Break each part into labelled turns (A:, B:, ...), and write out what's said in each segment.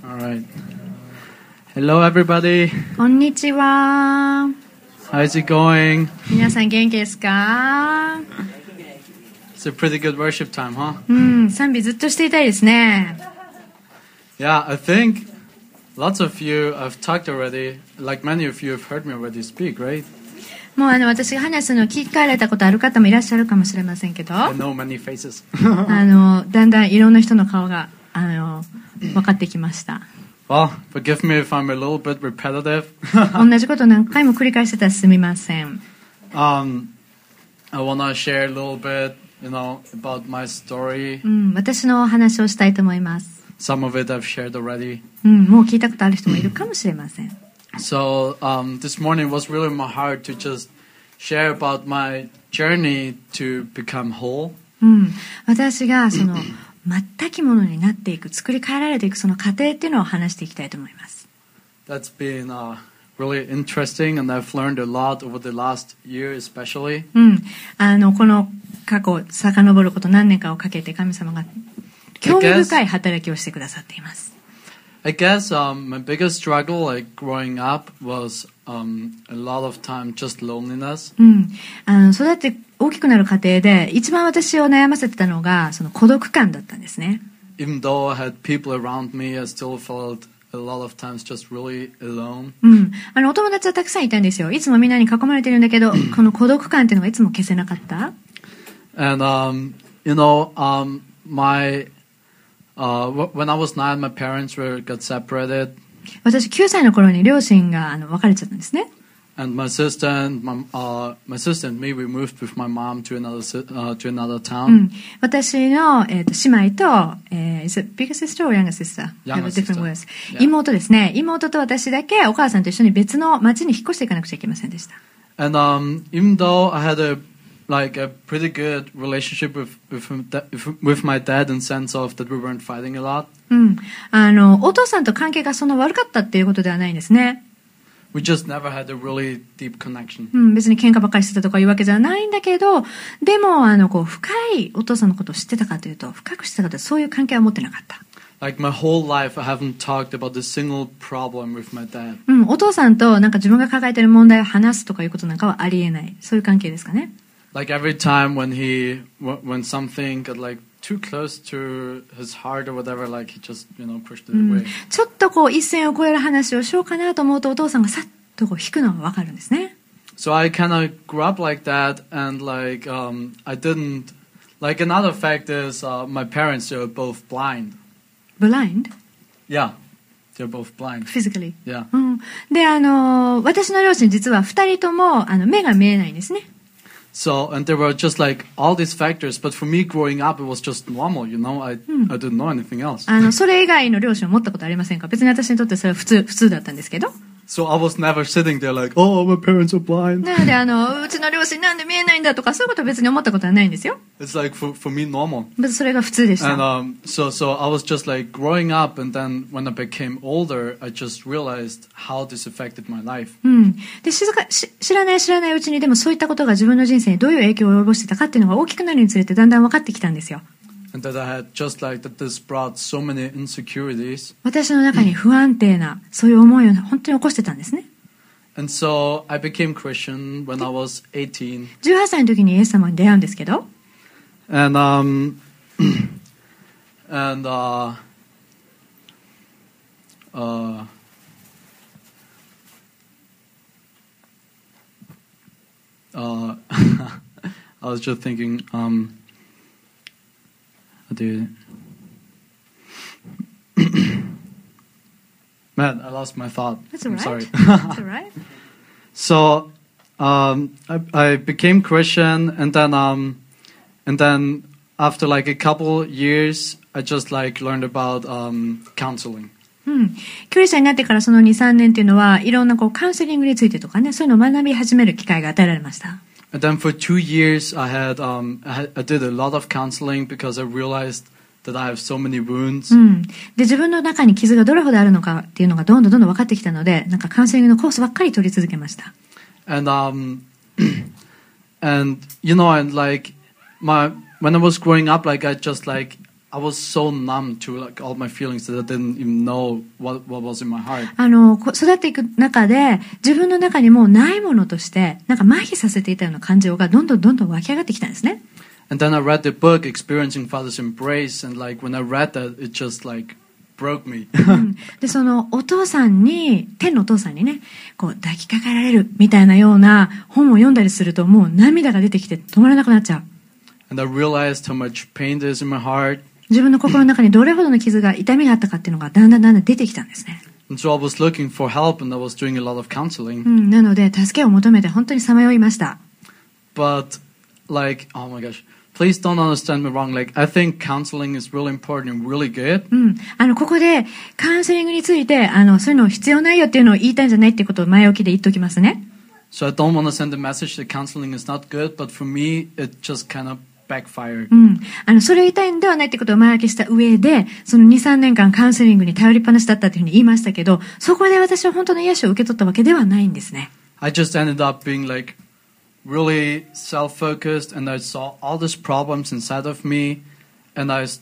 A: All right. Hello, everybody.
B: こんにちは。
A: How's it going?
B: 皆さん元気ですか？
A: It's a pretty good worship time, huh?
B: 賛美ずっとしていたいですね。
A: Yeah, I think lots of you have talked already. Like many of you have heard me already speak, right?
B: もう私が話すのを聞かれたことある方もいらっしゃるかもしれませんけど、
A: I know many faces.
B: だんだんいろんな人の顔が分かってきました。
A: Well, forgive me if I'm a little bit repetitive.
B: 同じことを何回も繰り返してたらすみません。
A: I want to share a little bit, about my story.
B: 私のお話をしたいと思います。
A: Some of it I've shared already.
B: もう聞いたことある人もいるかもしれません。
A: So this morning was really in my heart to just share about my journey to become whole.
B: 私がその全きものになっていく、作り変えられていくその過程っていうのを話していきたいと思います。
A: That's been really interesting, and I've learned a lot over the last year, especially.
B: この過去遡ること何年かをかけて神様が興味深い働きをしてくださっています。
A: I guess my biggest struggle, like growing up, was a lot of time just loneliness.
B: 育って大きくなる過程で一番私を悩ませてたのがその孤独感だったんですね。
A: Even though I had people around me, I still felt a lot of times just really alone.
B: お友達はたくさんいたんですよ。いつもみんなに囲まれてるんだけど、この孤独感っていうのがいつも消せなかった。
A: And when I was 9, my parents got separated.
B: 私9歳の頃に両親が別れちゃったんですね。
A: And my sister and me, we moved with my mom to another town.
B: 私の、姉妹と、is it bigger sister or younger sister?
A: Younger sister.
B: Yeah. 妹ですね。妹と私だけお母さんと一緒に別の町に引っ越していかなくちゃいけませんでした。
A: And even though I had a pretty good relationship with my dad in sense of that we weren't fighting a lot.
B: お父さんと関係がそんな悪かったっていうことではないんですね。
A: We just never had a really deep connection.
B: 別に喧嘩ばっかりしてたとかいうわけじゃないんだけど、でも深いお父さんのことを知ってたかというと、深く知ってたかというと、そういう関係は持ってなかった。
A: Like my whole life, I haven't talked about a single problem with my dad.
B: お父さんとなんか自分が抱えている問題を話すとかいうことなんかはありえない。そういう関係ですかね。
A: Like every time when something got like too close to his heart or whatever, like he just pushed it away.
B: ちょっと一線を越える話をしようかなと思うとお父さんがさっと引くのがわかるんですね。
A: So I kind of grew up like that, and I didn't. Like another fact is my parents are both blind.
B: Blind?
A: Yeah, they're both blind.
B: Physically.
A: Yeah.
B: で私の両親実は2人とも目が見えないんですね。
A: So, and there were just like all these factors, but for me growing up, it was just normal, I didn't know anything else.
B: それ以外の両親を持ったことありませんか？別に私にとってそれは普通だったんですけど。
A: So I was never sitting there like, oh, my parents are blind.
B: なのでうちの両親なんで見えないんだとかそういうことは別に思ったことはないんですよ。
A: It's like for me normal.
B: 別にそれが普通でした。
A: And so I was just like growing up, and then when I became older, I just realized how this affected my life.
B: で知らないうちにでもそういったことが自分の人生にどういう影響を及ぼしてたかっていうのが大きくなるにつれてだんだん分かってきたんですよ。
A: And that I had just like that this brought so many insecurities.
B: 私の中に不安定なそういう思いを本当に起こしてたんですね。
A: And so I became Christian when I was 18.
B: 18歳の時にイエス様に出会うんですけど。
A: And I was just thinking, Man, I lost my thought.
B: That's all right.
A: I'm sorry.
B: That's all right.
A: So, I became Christian, and then after like a couple years, I just like learned about counseling.
B: クリスチャンになってからその 2,3 年っていうのはいろんなカウンセリングについてとかね、そういうのを学び始める機会が与えられました。
A: And then for 2 years, I did a lot of counseling because I realized that I have so many wounds.
B: で自分の中に傷がどれほどあるのかっていうのがどんどん分かってきたので、なんかカウンセリングのコースばっかり取り続けました。
A: And like when I was growing up, like I just like I was so numb to like all my feelings that I didn't even know what was in my heart.
B: 育っていく中で、自分の中にもうないものとして、なんか麻痺させていたような感情がどんどん湧き上がってきたんですね。
A: And then I read the book, Experiencing Father's Embrace, and like when I read that, it just like broke me.
B: で、そのお父さんに、天のお父さんにね、こう抱きかかられるみたいなような本を読んだりすると、もう涙が出てきて止まらなくなっちゃう。
A: And I realized how much pain there is in my heart.
B: 自分の心の中にどれほどの傷が、痛みがあったかっていうのがだんだん出てきたんですね。
A: And so I was looking for help, and I was doing a lot of counseling.
B: なので、助けを求めて本当にさまよいました。
A: But like, oh my gosh. Please don't understand me wrong. Like, I think counseling is really important and really good.
B: ここでカウンセリングについて、そういうの必要ないよっていうのを言いたいんじゃないっていうことを前置きで言っておきますね。
A: So I don't want to send the message that counseling is not good, but for me, it just kind of backfired.
B: それを言いたいんではないってことを前置きした上で、その2、3年間カウンセリングに頼りっぱなしだったっていうふうに言いましたけど、そこで私は本当の癒しを受け取ったわけではないんですね。
A: I just ended up being like, really self-focused, and I saw all these problems inside of me, and it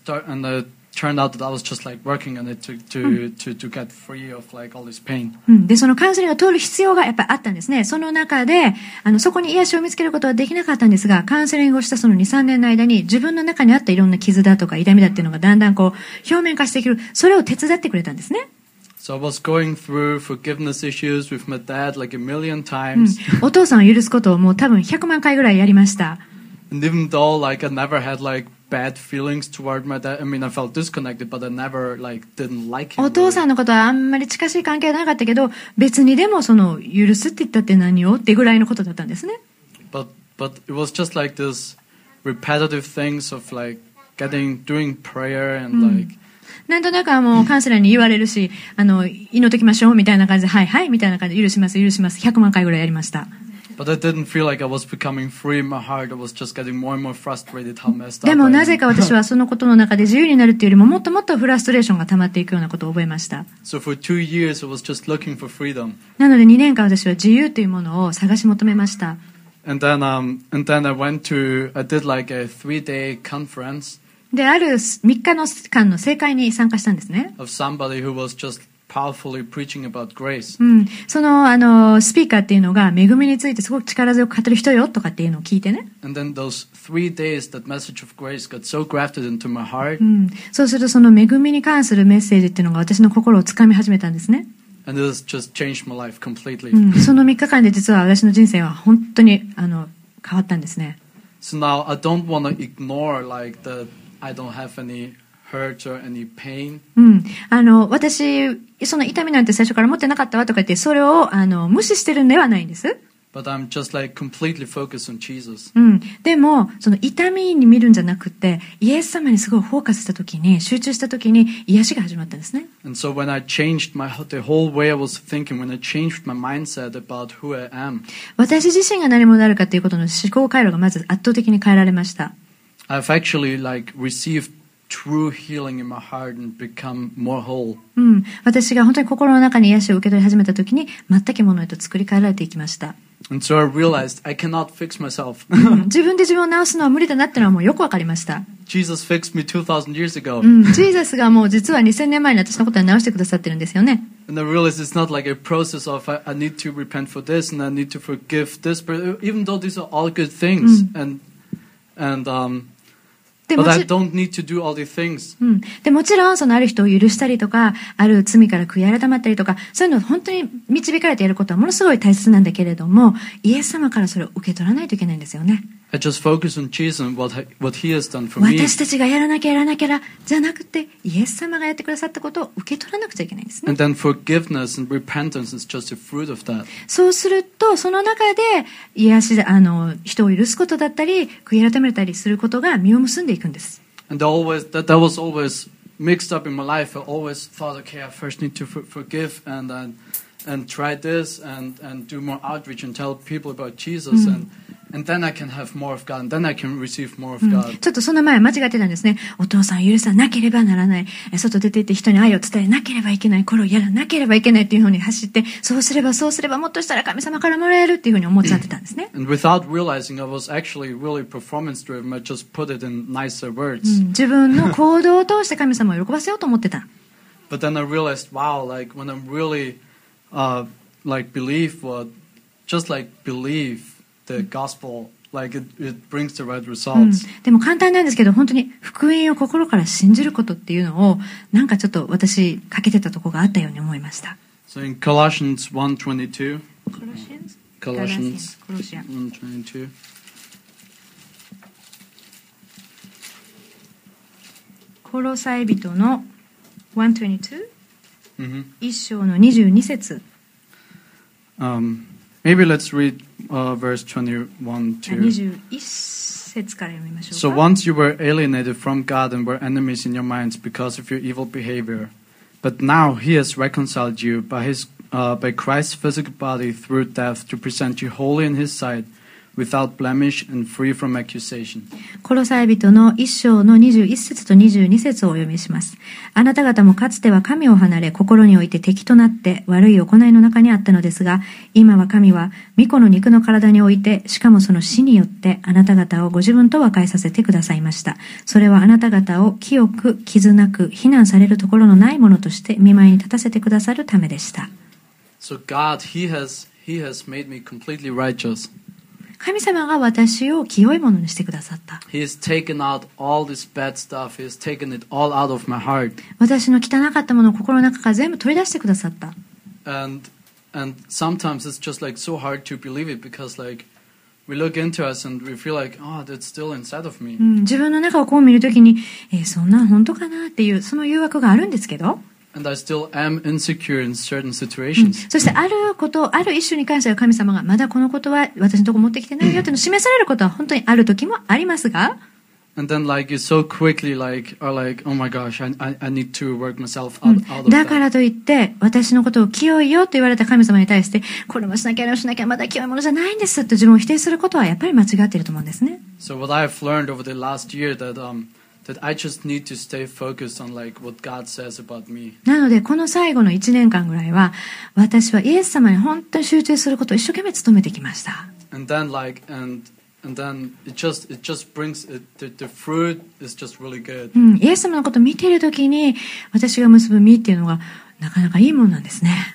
A: turned out that I was just like working on it to get free of like all this pain.
B: で、そのカウンセリングを通る必要がやっぱりあったんですね。その中で、そこに癒しを見つけることはできなかったんですが、カウンセリングをしたその2、3年の間に自分の中にあったいろんな傷だとか痛みだっていうのがだんだんこう表面化してくる。それを手伝ってくれたんですね。
A: So I was going through forgiveness issues with my dad like a million times.
B: お父さんを許すことをもう多分100万回ぐらいやりました。
A: And even though like I never had like bad feelings toward my dad, I mean I felt disconnected, but I never like didn't like him.
B: お父さんのことはあんまり近しい関係はなかったけど、別にでもその許すって言ったって何をってぐらいのことだったんですね。
A: But it was just like this repetitive things of like doing prayer and like.
B: なんとなくもうカウンセラーに言われるし、祈っときましょうみたいな感じで、はいはいみたいな感じで許します100万回ぐらいやりました。
A: But I didn't feel like I was becoming free in my heart. I was just getting more and more frustrated how messed up.
B: でもなぜか私はそのことの中で自由になるっていうよりももっともっとフラストレーションが溜まっていくようなことを覚えました。
A: So for 2 years I was just looking for freedom.
B: なので2年間私は自由というものを探し求めました。
A: And then I did like a 3-day conference.
B: で、ある3日の間の聖会に参加したんですね。
A: Of somebody who was just powerfully preaching about grace.
B: そのスピーカーっていうのが恵みについてすごく力強く語る人よとかっていうのを聞いてね。
A: And then those 3 days, that message of grace got so grafted into my heart.
B: そうするとその恵みに関するメッセージっていうのが私の心をつかみ始めたんですね。
A: And it has just changed my life completely.
B: その3日間で実は私の人生は本当に変わったんですね。
A: So now I don't want to ignore like I don't have any hurt or any pain.
B: 私、その痛みなんて最初から持ってなかったわとか言って、それを無視してるんではないんです。
A: But I'm just like completely focused on Jesus.
B: でも、その痛みに見るんじゃなくて、イエス様にすごいフォーカスしたときに、集中したときに、癒しが始まったんですね。
A: And so when I changed the whole way I was thinking, when I changed my mindset about who I am,
B: 私自身が何者であるかということの思考回路がまず圧倒的に変えられました。
A: I've actually like received true healing in my heart and become more whole.
B: 私が本当に心の中に癒しを受け取り始めたときに、全くものへと作り変えられていきました。
A: And so I realized I cannot fix myself.
B: 自分で自分を治すのは無理だなっていうのはもうよくわかりました。
A: Jesus fixed me 2,000 years ago.
B: ジーザスがもう実は2000年前に私のことを直してくださってるんですよね。
A: And I realized it's not like a process of I need to repent for this and I need to forgive this, but even though these are all good things, but I don't need to do all these things.
B: でもちろんそのある人を許したりとか、ある罪から悔い改まったりとか、そういうのを本当に導かれてやることはものすごい大切なんだけれども、イエス様からそれを受け取らないといけないんですよね。
A: I just focus on Jesus and what He has done for me.
B: 私たちがやらなきゃじゃなくて、イエス様がやってくださったことを受け取らなくちゃいけないんですね。
A: And then forgiveness and repentance is just a fruit of that.
B: そうすると、その中で癒し人を許すことだったり、悔い改めたりすることが実を結んでいくんです。
A: And that was always mixed up in my life. I always thought, okay, I first need to forgive and try this and do more outreach and tell people about Jesus And then I can have more of God, and then I can receive more of
B: うん
A: God.
B: ちょっとその前間違ってたんですね。お父さんを許さなければならない。外出て行って人に愛を伝えなければいけない。これをやらなければいけないっていうふうに走って、そうすればもっとしたら神様からもらえるっていうふうに思っちゃってたんですね。
A: And without realizing, I was actually really performance driven. I just put it in nicer
B: う
A: words.
B: ん自分の行動を通して神様を喜ばせようと思ってた。
A: But then I realized, wow, like when I'm really, like believe what, just like believe the gospel, like it brings the right
B: うん
A: results.
B: でも簡単なんですけど、本当に福音を心から信じることっていうのを、なんかちょっと私、欠けてたところがあったように思いました。
A: So in Colossians 1:22, Colossians
B: コロシア
A: 1:22.
B: コロサイ人の122
A: Mm-hmm.
B: 一章の22節
A: Maybe let's read verse 21 too.
B: 21節から読みましょ
A: So
B: うか。
A: once you were alienated from God and were enemies in your minds because of your evil behavior, but now He has reconciled you by Christ's physical body through death to present you holy in His sight, without blemish and free from accusation.
B: コロサイ人の一章の21節と22節をお読みします。あなた方もかつては神を離れ、心において敵となって悪い行いの中にあったのですが、今は神は御子の肉の体において、しかもその死によってあなた方をご自分と和解させてくださいました。それはあなた方を清く、傷なく、非難されるところのないものとして御前に立たせてくださるためでした。
A: So God, He has made me completely righteous.
B: 神様が私を清いものにしてくださった。
A: He has taken out all this bad stuff. He has taken it all out of my heart.
B: 私の汚かったものを心の中から全部取り出してくださった。
A: And sometimes it's just like so hard to believe it because like we look into us and we feel like, oh, that's still inside of me.
B: 自分の中をこう見るときに、そんなん本当かなっていう、その誘惑があるんですけど、
A: And I still am insecure in certain situations.
B: そしてある一種に関しては神様がまだこのことは私のところ持ってきてないよっていうのを示されることは本当にある時もありますが、
A: And then like you so quickly are like, oh my gosh, I need to work myself out of
B: だか
A: that.
B: らといって私のことを清いよと言われた神様に対して、これもしなきゃあれもしなきゃまだ清いものじゃないんですと自分を否定することはやっぱり間違っていると思うんですね。
A: So what I've learned over the last year that I just need to stay focused on like what God says about me.
B: なのでこの最後の1年間ぐらいは私はイエス様に本当に集中することを一生懸命努めてきました。
A: And then like and then it just brings the fruit is just really good.
B: イエス様のことを見ているときに私が結ぶ実っていうのがなかなかいいものなんですね。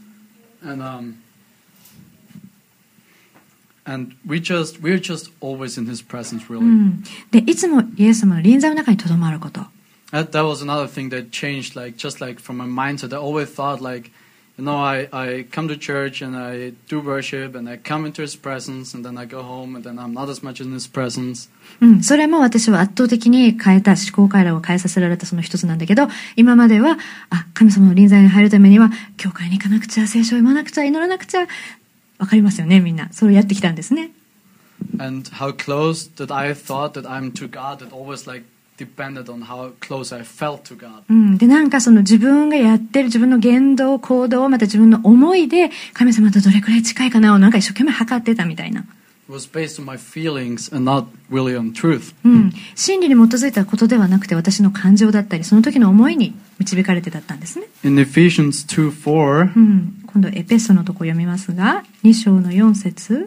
A: And we're just always in His presence, really.
B: でいつもイエス様の臨在の中にとどまること。
A: That was another thing that changed, like just like from my mindset. I always thought like, you know, I come to church and I do worship and I come into His presence and then I go home and then I'm not as much in His presence.
B: それも私は圧倒的に変えた思考回路を変えさせられたその一つなんだけど、今までは神様の臨在に入るためには教会に行かなくちゃ、聖書を読まなくちゃ、祈らなくちゃ。わかりますよね、みんな。それをやってきたんですね。
A: And how close that I thought that I'm to God, that always like depended on how close I felt to God.
B: で、なんかその自分がやってる自分の言動、行動、また自分の思いで神様とどれくらい近いかなをなんか一生懸命測ってたみたいな。
A: It was based on my feelings and not really on truth.
B: 真理に基づいたことではなくて私の感情だったりその時の思いに導かれてだったんですね。
A: In Ephesians 2:4,
B: 今度エペソのとこ読みますが、2章の4節。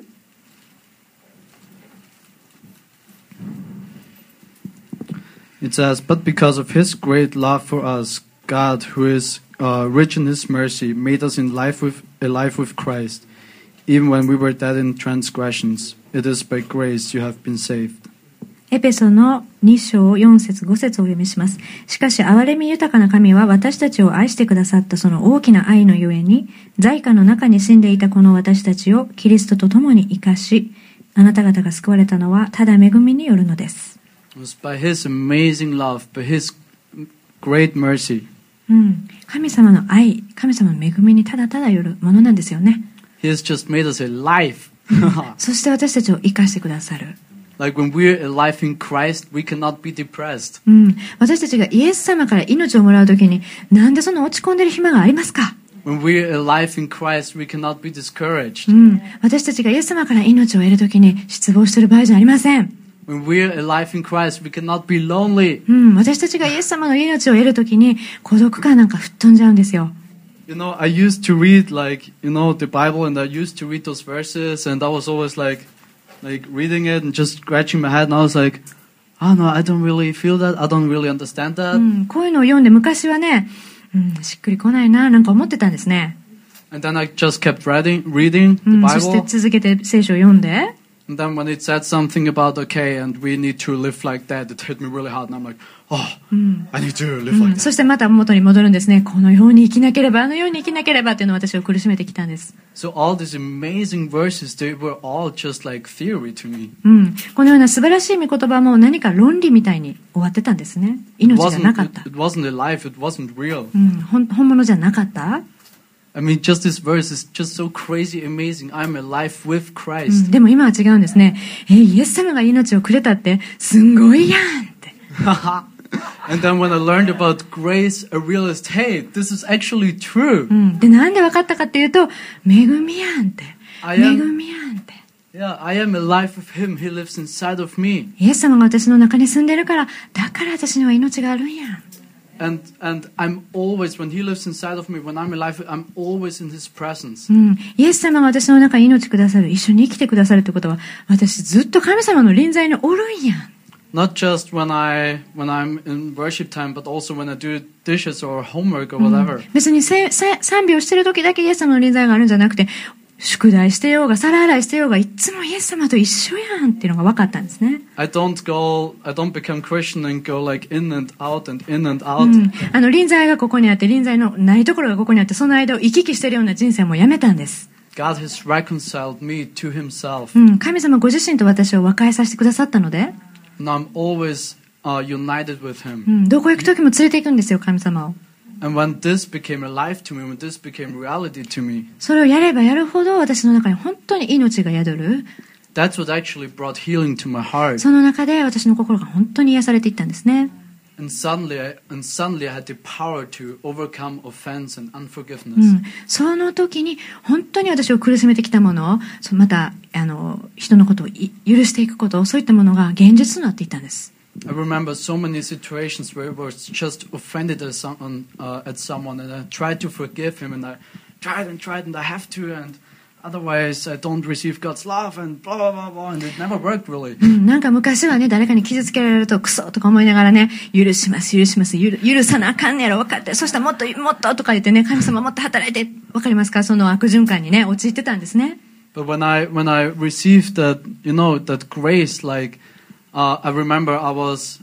A: it says, "But because of His great love for us, God, who is rich in His mercy, made us alive with Christ, even when we were dead in transgressions. It is by grace you have been saved."
B: エペソの2章4節5節をお読みします。しかし憐れみ豊かな神は私たちを愛してくださったその大きな愛のゆえに、罪禍の中に死んでいたこの私たちをキリストと共に生かし、あなた方が救われたのはただ恵みによるのです。
A: It was by His amazing love, by His great mercy.
B: 神様の愛、神様の恵みにただただよるものなんですよね。
A: He has just made us alive.
B: そして私たちを生かしてくださる。
A: Like when we're alive in Christ, we cannot be depressed.
B: 私たちがイエス様から命をもらうときに、なんでそんな落ち込んでる暇がありますか？
A: when we're alive in Christ, we cannot be discouraged.
B: 私たちがイエス様から命を得るときに失望している場合じゃありません。
A: When we're alive in Christ, we cannot be lonely.
B: 私たちがイエス様の命を得るときに孤独感なんか吹っ飛んじゃうんですよ。
A: You know, I used to read the Bible, and I used to read those verses, and I was always like reading it and just scratching my head, and I was like, oh no, I don't really feel that, I don't really understand that.
B: こういうのを読んで昔はね、しっくりこないな、なんか思ってたんですね。
A: And then I just kept reading the Bible.
B: そして続けて聖書を読んで、
A: And then when it said something about, okay, and we need to live like that, it hit me really hard. And I'm like, oh, I need to live like that.
B: そしてまた元に戻るんですね。このように生きなければ、あのように生きなければっていうのを私を苦しめてきたんです。
A: So all these amazing verses, they were all just like theory to me.
B: このような素晴らしい御言葉も何か論理みたいに終わってたんですね。命じゃなかった。
A: It wasn't alive, it wasn't real.
B: 本物じゃなかった。
A: I mean, just this verse is just so crazy amazing. I'm alive with Christ.
B: でも今は違うんですね。イエス様が命をくれたってすんごいやんって。
A: And then when I learned about grace, I realized, hey, this is actually true.
B: で、なんで分かったかっていうと、恵みやんって。恵みやんって。
A: Yeah, I am alive with Him. He lives inside of me.
B: イエス様が私の中に住んでるから、だから私には命があるんやん。
A: And I'm always, when He lives inside of me, when I'm alive, I'm always in His presence.
B: イエス様が私の中に命くださる、一緒に生きてくださるということは、私ずっと神様の臨在におるんやん。
A: Not just when I'm in worship time, but also when I do dishes or homework or whatever.
B: 別に賛美をしている時だけイエス様の臨在があるんじゃなくて、宿題してようが皿洗いしてようがいつもイエス様と一緒やんっていうのが分かったんですね。
A: I don't become Christian and go like in and out and in and out.
B: 臨在がここにあって臨在のないところがここにあってその間を行き来しているような人生もやめたんです。
A: God has reconciled me to Himself.
B: 神様ご自身と私を和解させてくださったので。
A: And I'm always united with Him.
B: どこ行く時も連れて行くんですよ神様を。
A: And when this became alive to me, when this became reality to me,
B: それをやればやるほど私の中に本当に命が宿る。
A: That's what actually brought healing to my heart.
B: その中で私の心が本当に癒されていったんですね。
A: And suddenly I had the power to overcome offense and unforgiveness.
B: その時に本当に私を苦しめてきたものを、また人のことを許していくこと、そういったものが現実となっていったんです。
A: I remember so many situations where I was just offended at someone, and I tried to forgive him, and I tried, and I have to, and otherwise I don't receive God's love, and blah blah blah blah, and it never worked really.
B: なんか昔はね、誰かに傷つけられるとクソとか思いながらね、許します、許さなあかんねやろ、分かって、そしたらもっととか言ってね、神様もっと働いて、分かりますか？その悪循環にね、陥ってたんですね。
A: But when I received that, that grace, I remember I was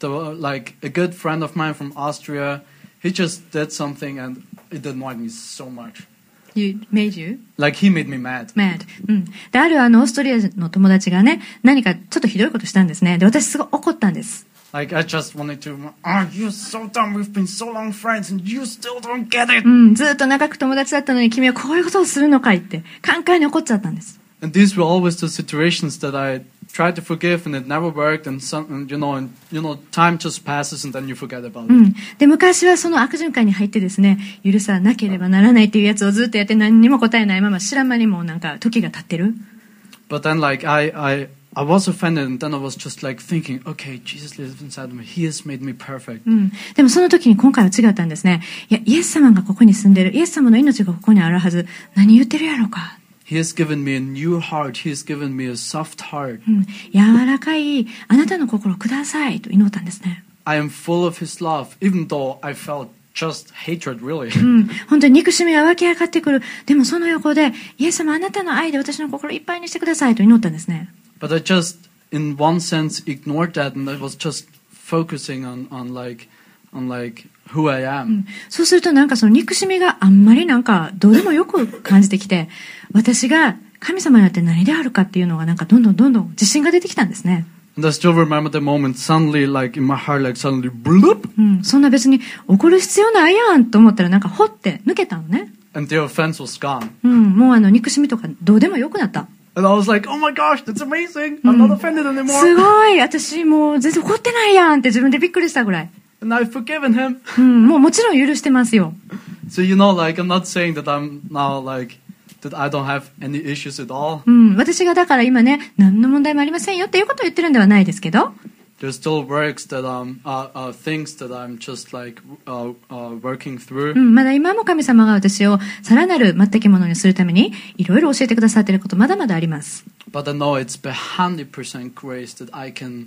A: a good friend of mine from Austria. He just did something and it annoyed me so much.
B: Made you?
A: Like he made me mad.
B: Mad. で、あるオーストリアの友達がね、何かちょっとひどいことしたんですね。で、私すごい怒ったんです。
A: Like I just wanted to, you're so dumb. We've been so long friends and you still don't get it.
B: ずっと長く友達だったのに君はこういうことをするのかいってカンカンに怒っちゃったんです。
A: And these were always the situations that I tried to forgive and it never worked, and time just passes and then you forget about it.
B: で、昔はその悪循環に入ってですね、許さなければならないっていうやつをずっとやって何にも答えないまま知らん間にもなんか時が経ってる。
A: But then I was offended, and then I was just thinking, okay, Jesus lives inside of me. He has made me perfect.
B: でもその時に今回は違ったんですね。いや、イエス様がここに住んでる。イエス様の命がここにあるはず。何言ってるやろうか。
A: He has given me a new heart. He has given me a soft heart.
B: 柔らかいあなたの心をくださいと祈ったんですね。
A: I am full of His love, even though I felt just hatred, really.
B: 本当に憎しみが湧き上がってくる。でもその横で、イエス様あなたの愛で私の心いっぱいにしてくださいと祈ったんですね。
A: But I just, in one sense, ignored that, and I was just focusing on who I am.
B: そうするとなんかその憎しみがあんまりなんかどうでもよく感じてきて、私が神様によって何であるかっていうのがなんかどんどん自信が出てきたんですね。
A: And I still remember the moment, suddenly, in my heart, suddenly, bloop.
B: そんな別に怒る必要ないやんと思ったらなんかほって抜けたのね。
A: And the offense was gone.
B: もう憎しみとかどうでもよくなった。
A: And I was like, oh my gosh, that's amazing. I'm not offended anymore.
B: すごい、私もう全然怒ってないやんって自分でびっくりしたぐらい。
A: And I've forgiven him.
B: もちろん許してますよ。
A: So you know, like I'm not saying that I'm now like that I don't have any issues at all.
B: 私がだから今ね、何の問題もありませんよっていうことを言ってるんではないですけど、
A: There's still works that things that I'm just like working through.
B: まだ今も神様が私をさらなる全くものにするためにいろいろ教えてくださっていることまだまだあります。
A: But I know it's 100% grace that I can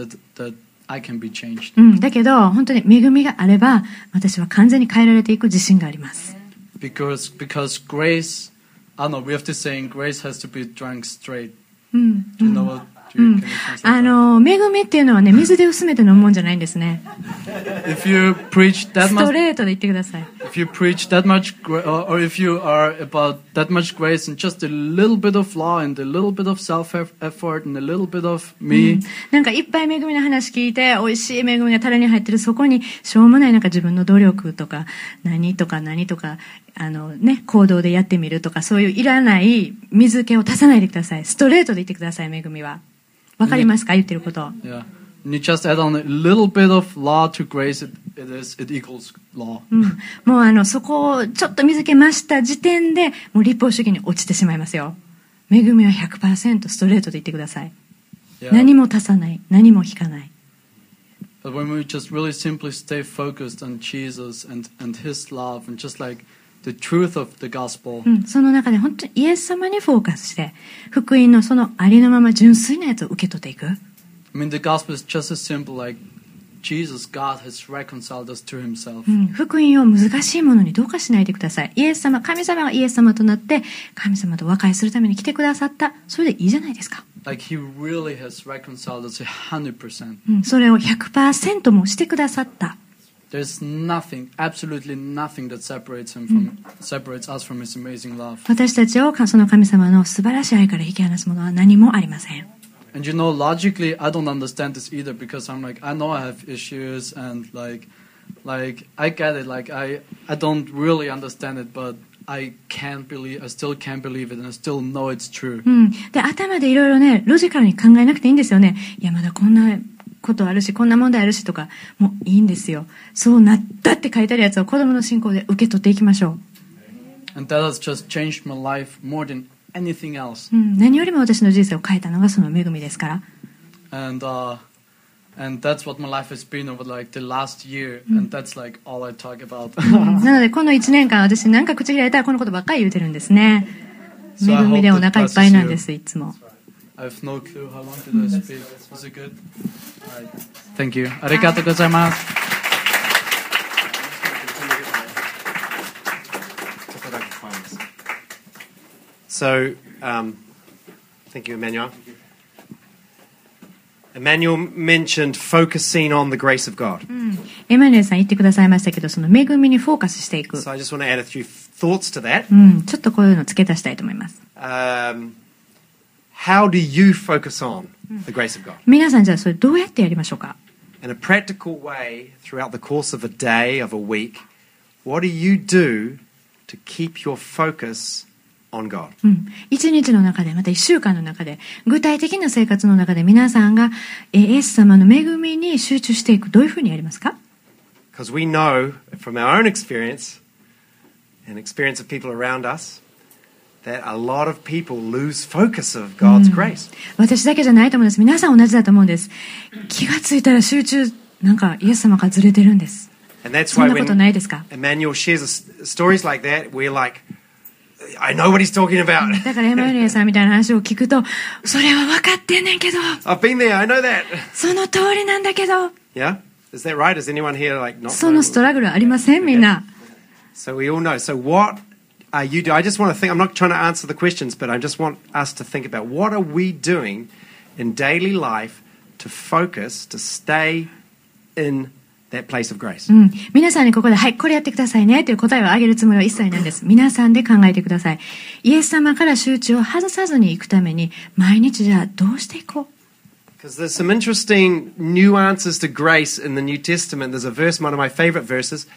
A: be changed.
B: だけど本当に恵みがあれば私は完全に変えられていく自信があります。
A: Because grace, I don't know, we have to say grace has to be drunk straight. Do you know what? 恵み
B: っていうのはね、水で薄めて飲むもんじゃないんですね。
A: If you preach that
B: ストレートで言ってください。
A: If you preach that much, or if you are about that much grace and just a little bit of law and a little bit of self-effort and a little bit of me.
B: なんかいっぱい恵みの話聞いて、美味しい恵みがタレに入ってるそこにしょうもないなんか自分の努力とか何とか行動でやってみるとかそういういらない水気を足さないでください。ストレートで言ってください、恵みは。わかりますか言ってること。
A: Yeah. And you just add on a little bit of law to grace, it equals law.
B: もうそこをちょっと水気増した時点でもう立法主義に落ちてしまいますよ。恵みは 100% ストレートで言ってください。
A: Yeah.
B: 何も足さない、何も引かない。
A: But when we just really simply stay focused on Jesus and His love and just like the truth of the gospel.
B: その中で本当にイエス様にフォーカスして福音のそのありのまま純粋なやつを受け取っていく。
A: I mean, the gospel is just as simple like Jesus, God has reconciled us to Himself.
B: 福音を難しいものにどうかしないでください。イエス様、神様がイエス様となって神様と和解するために来てくださった。それでいいじゃないですか。
A: Like He really has reconciled us 100%.
B: それを 100% もしてくださった。
A: There's nothing, absolutely nothing that separates us from His amazing love.
B: 私たちをその神様の素晴らしい愛から引き離すものは何もありません。
A: And you know, logically, I don't understand this either because I'm like, I know I have issues and like I get it. Like I don't really understand it, but I still can't believe it, and I still know it's true.
B: で、頭でいろいろね、ロジカルに考えなくていいんですよね。いや、まだこんなことあるし、こんな問題あるしとか、もういいんですよ。そうなったって書いてあるやつを子供の信仰で受け取っていきましょう。
A: And that has just changed my life more than anything else.
B: 何よりも私の人生を変えたのがその恵みですから。
A: And that's what my life has been over like the last year, and that's like all I talk about.
B: なのでこの1年間私なんか口開いたらこのことばっかり言うてるんですね。恵みでお腹いっぱいなんですいつも。
A: I have no clue how long did I speak. Was it good? Right. Thank you. ありがとうございます。
C: So, thank you, Emmanuel. Emmanuel mentioned focusing on the grace of God.
B: エマニュエルさん言ってくださいましたけど、その恵みにフォーカスしていく。
C: So I just want to add a few thoughts to that.
B: ちょっとこういうの付け足したいと思います。
C: How do you focus on the grace of God?
B: 皆さんじゃあそれどうやってやりましょうか?
C: In a practical way, throughout the course of a day, of a week, what do you do to keep your focus on God?
B: 一日の中で、また一週間の中で、具体的な生活の中で皆さんがイエス様の恵みに集中していく。どういうふうにやりますか?
C: Because we know from our own experience and experience of people around us that a lot of people lose focus of God's grace.
B: 私だけじゃないと思うんです。皆さん同じだと思うんです。気がついたら集中、なんかイエス様からずれてるんです。
C: And that's
B: そ
C: why
B: んなことないですか?
C: when Emmanuel shares stories like that, we're like, I know what he's talking about.
B: だからエマニュエルさんみたいな話を聞くと、それは分かってんねんけど。
C: I've been there, I know that.
B: その通りなんだけど。
C: Yeah? Is that right? Is anyone here like not?
B: そのストラグルありませんみんな。
C: So we all know. So what are you doing? I just want to think, I'm not trying to answer the questions, but I just want us to think about what are we doing in daily life to focus, to stay in that place of grace.
B: 皆さんにここで、はい、これやってくださいねという答えをあげるつもりは一切ないんです。皆さんで考えてください。イエス様から集中を外さずに行くために、毎日じゃあどうしていこう?
C: Because there's some interesting nuances to grace in the New Testament. There's a verse, one of my favorite verses,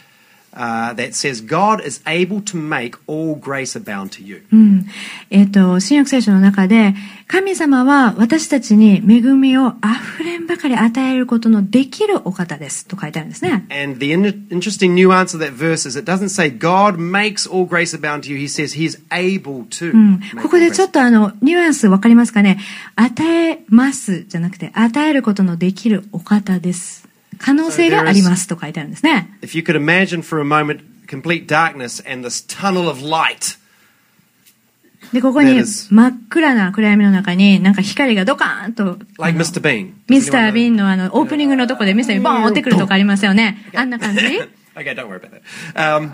C: that says God is able to make all grace abound to you.
B: 新約聖書の中で、神様は私たちに恵みを溢れんばかり与えることのできるお方ですと書いてあるんですね。
C: And the interesting nuance of that verse is it doesn't say God makes all grace abound to you. He says He is able to.
B: ここでちょっとニュアンスわかりますかね。与えますじゃなくて、与えることのできるお方です。可能性がありますと書いてあるんですね。
C: If you could imagine for a moment complete darkness and this tunnel of light.
B: で、ここに真っ暗な暗闇の中になんか光がドカーンと。
C: Like Mr. Bean.
B: ミスター・ビーンのオープニングのとこでミスター・ビーンボーン落ってくるとかありますよね。あんな感じ
C: Okay, don't worry about that.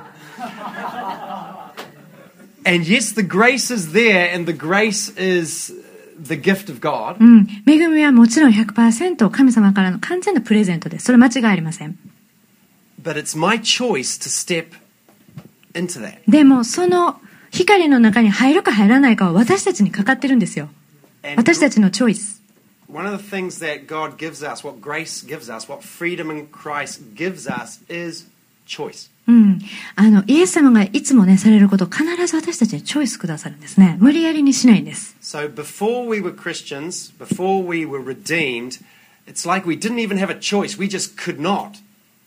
C: And yes, the grace is there and the grace is the gift of God.
B: 恵みはもちろん 100% 神様からの完全なプレゼントです。それ間違いありません。
C: But it's my choice to step into that.
B: でもその光の中に入るか入らないかは私たちにかかってるんですよ。私たちのチョイス。
C: One of the things that God gives us, what grace gives us, what freedom in Christ gives us is choice.
B: イエス様がいつもね、されることを必ず私たちにチョイスくださるんですね。無理やりにしないんです。
C: So before we were Christians, before we were redeemed, it's like we didn't even have a choice. We just could not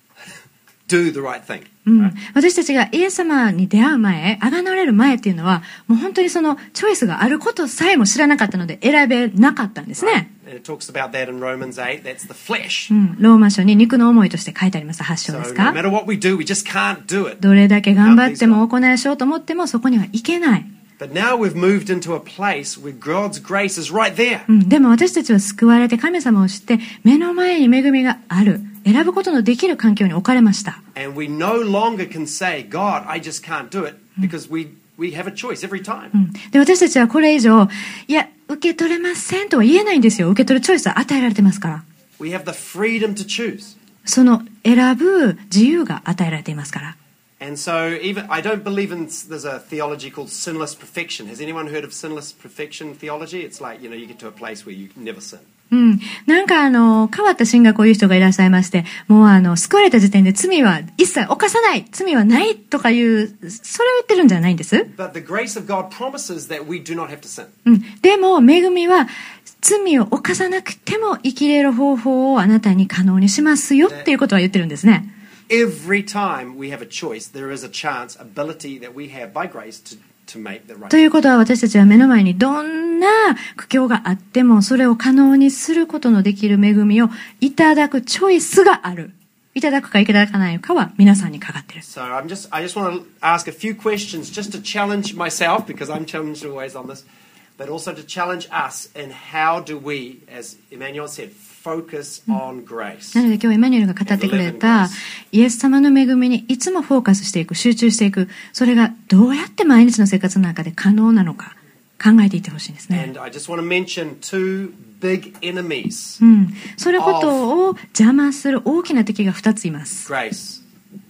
C: do the right thing.
B: 私たちがイエス様に出会う前、贖われる前っていうのは、もう本当にそのチョイスがあることさえも知らなかったので選べなかったんですね。
C: And it talks about that in Romans 8. That's the flesh.
B: ローマ書に肉の思いとして書いてあります。8章です
C: So
B: か。
C: no matter what we do, we just can't do it.
B: どれだけ頑張っても行いしようと思ってもそこにはいけない。
C: But now we've moved into a place where God's grace is right there.
B: でも私たちは救われて神様を知って目の前に恵みがある。選ぶことのできる環境に置かれました。
C: And we no longer can say, God, I just can't do it, because we have a choice every time.
B: で、私たちはこれ以上、いや、受け取れませんとは言えないんですよ。受け取るチョイスは与えられてますから。
C: We have the freedom to choose.
B: その選ぶ自由が与えられていますから。
C: And so I don't believe there's a theology called sinless perfection. Has anyone heard of sinless perfection theology? It's like, you get to a place where you never sin.
B: なんか変わった神学を言う人がいらっしゃいまして、もう救われた時点で罪は一切犯さない、罪はないとかいう、それを言ってるんじゃないんです。
C: But the grace of God promises that we do not have to sin.
B: でも恵みは罪を犯さなくても生きれる方法をあなたに可能にしますよっていうことは言ってるんですね。
C: Every time we have a choice, there is a chance, ability that we have by grace to make the right.
B: ということは私たちは目の前にどんな苦境があってもそれを可能にすることのできる恵みをいただくチョイスがある。いただくかいただかないかは皆さんにかかっている。
C: So I just want to ask a few questions just to challenge myself, because I'm challenged always on this, but also to challenge us in how do we, as Emmanuel said, focus on grace.
B: なので今日エマニュエルが語ってくれたイエス様の恵みにいつもフォーカスしていく、集中していく、それがどうやって毎日の生活の中で可能なのか考えていってほしいんですね。
C: And I just want to mention two big enemies.
B: それことを邪魔する大きな敵が2ついます。
C: Grace.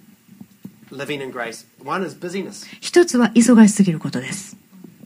C: Living in grace. One is busyness.
B: 一つは忙しすぎることです。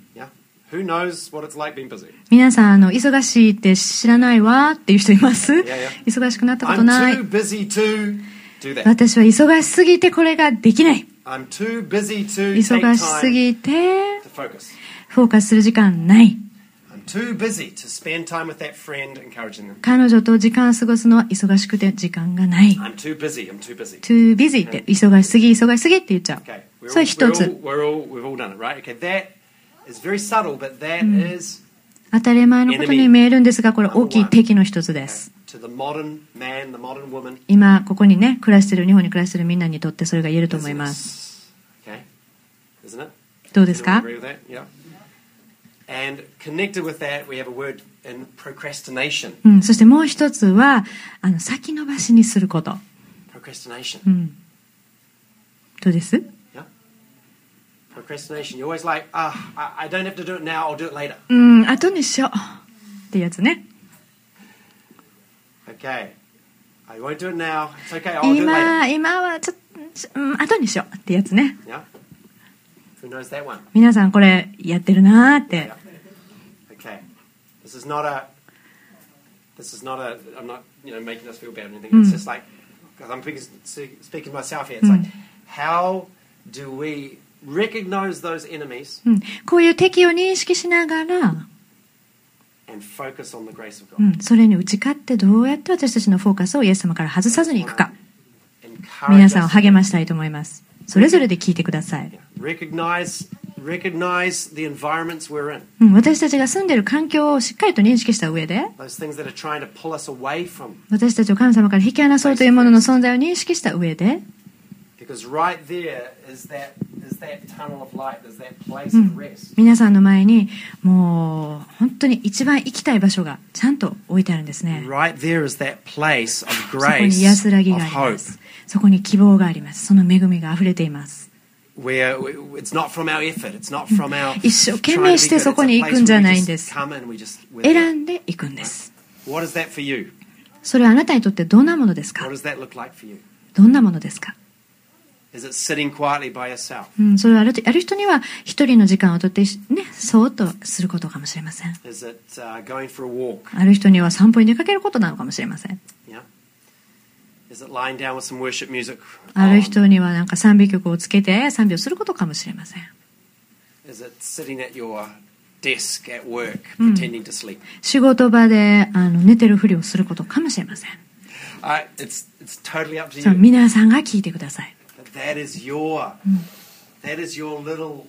C: Who knows what it's like being busy?
B: 皆さん忙しいって知らないわっていう人います？
C: Yeah.
B: 忙しくなったことない。
C: I'm too busy to do that.
B: 私は忙しすぎてこれができない。
C: I'm too busy to take
B: 忙しす
C: time
B: ぎて
C: to focus.
B: フォーカスする時間ない。
C: I'm too busy to spend time with that friend, encouraging them.
B: 彼女と時間を過ごすのは忙しくて時間がない。
C: I'm too busy. I'm too busy.
B: too busy って忙しすぎって言っちゃう。
C: Okay.
B: それ一つ。
C: We've all done it, right? Okay. That is very subtle, but that is
B: 当たり前のことに見えるんですが、これ大きい敵の一つです。
C: to the modern man, the modern woman.
B: 今ここにね暮らしてる日本に暮らしてるみんなにとってそれが言えると思います。
C: Okay. Isn't it?
B: どうですか？
C: Agree with that? Yeah. And connected with that, we have a word in procrastination.
B: そしてもう一つは先延ばしにすること。
C: Procrastination.
B: どうです？
C: Yeah. Procrastination. You're always like, I don't have to do it now. I'll do it later.
B: 後にしようってやつね。
C: Okay. I won't do it now. It's okay. I'll do it later.
B: 今はちょっと後にしようってやつね。
C: Yeah. Who knows that one?
B: 皆さんこれやってるなーって。
C: Okay. This is not a. I'm not, making us feel bad or anything. It's just like, because I'm speaking to myself here. It's like, how do we recognize those enemies
B: こういう敵を認識しながら、
C: and focus on the grace of God?
B: それに打ち勝ってどうやって私たちのフォーカスをイエス様から外さずにいくか、
C: Encourage
B: 皆さんを
C: us
B: 励ましたいと思います。それぞれで聞いてください。
C: recognize the environments we're in.
B: 私たちが住んでいる環境をしっかりと認識した上で、
C: Those things that are trying to pull us away from.
B: 私たちを神様から引き離そうというものの存在を認識した上で、
C: Because right there is that tunnel of light. There's that place of rest.
B: 皆さんの前にもう本当に一番行きたい場所がちゃんと置いてあるんですね。
C: Right there is that place of
B: そこに
C: grace,
B: 安らぎ
C: of
B: がありま
C: hope,
B: す。そこに希望があります。その恵みが溢れています。
C: where it's not from our effort. It's not from our
B: 一生懸
C: trying to
B: 命
C: be
B: して
C: good.
B: そ
C: It's
B: こ
C: a
B: に行
C: place
B: くんじゃ
C: where
B: な
C: we
B: いんで
C: just
B: す。
C: come and we're there.
B: 選んで行くんです。
C: What is that for you?
B: それはあなたにとってどんなものですか？
C: What does that look like for you?
B: どんなものですか？
C: Is it sitting quietly by yourself?
B: それはある人には一人の時間をとってね、そーっとすることかもしれません。
C: Is it going for a walk?
B: ある人には散歩に出かけることなのかもしれません。
C: Yeah. Is it lying down with some worship music?
B: ある人にはなんか賛美曲をつけて賛美をすることかもしれません。
C: Is it sitting at your desk at work pretending to sleep?
B: 仕事場で寝てるふりをすることかもしれません。
C: It's totally up to
B: そう
C: you.
B: 皆さんが聞いてください。
C: That is your little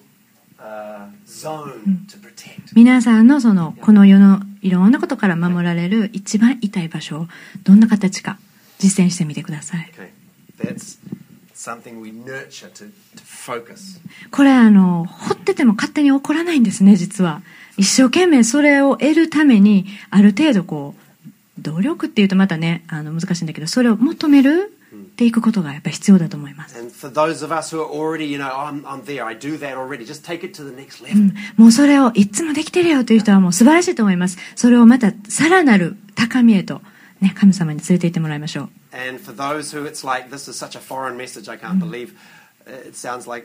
C: zone to protect.
B: 皆さんのこの世のいろんなことから守られる一番痛い場所をどんな形か実践してみてください。
C: Okay. That's something we nurture to focus.
B: これほってても勝手に起こらないんですね、実は。一生懸命それを得るためにある程度努力っていうとまたね難しいんだけど、それを求めるっていくことがやっぱり必要だと思います。
C: And for those of us who are already, I'm there, I do that already. Just take it to the next level.
B: もうそれをいつもできてるよという人はもう素晴らしいと思います。それをまたさらなる高みへと、ね、神様に連れて行ってもらいましょう。
C: And for those who it's like, this is such a foreign message, I can't believe it sounds like,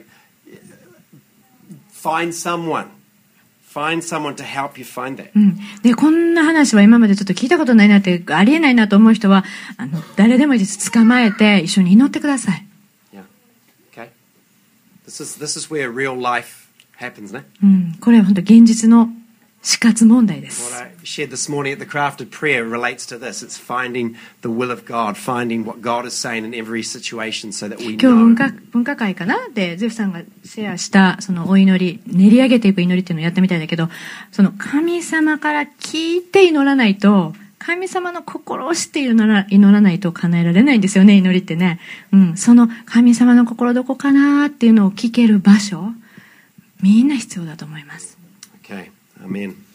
C: find someone to help you find that.
B: でこんな話は今までちょっと聞いたことないなってありえないなと思う人は誰でもいいです。捕まえて一緒に祈ってください。
C: Yeah. Okay. This is where real life happens, ね。
B: これは本当現実の死活問題で
C: What
B: す。
C: I shared this morning at the Crafted Prayer relates to this. It's finding the will of God, finding what God is saying in every situation so that we
B: 今
C: know.
B: 日文化会かなでゼフさんがシェアしたそのお祈り、練り上げていく祈りっていうのをやったみたいだけど、その神様から聞いて祈らないと、神様の心を知って祈らないと叶えられないんですよね、祈りってね。その神様の心どこかなっていうのを聞ける場所、みんな必要だと思います。
C: Okay. Amen.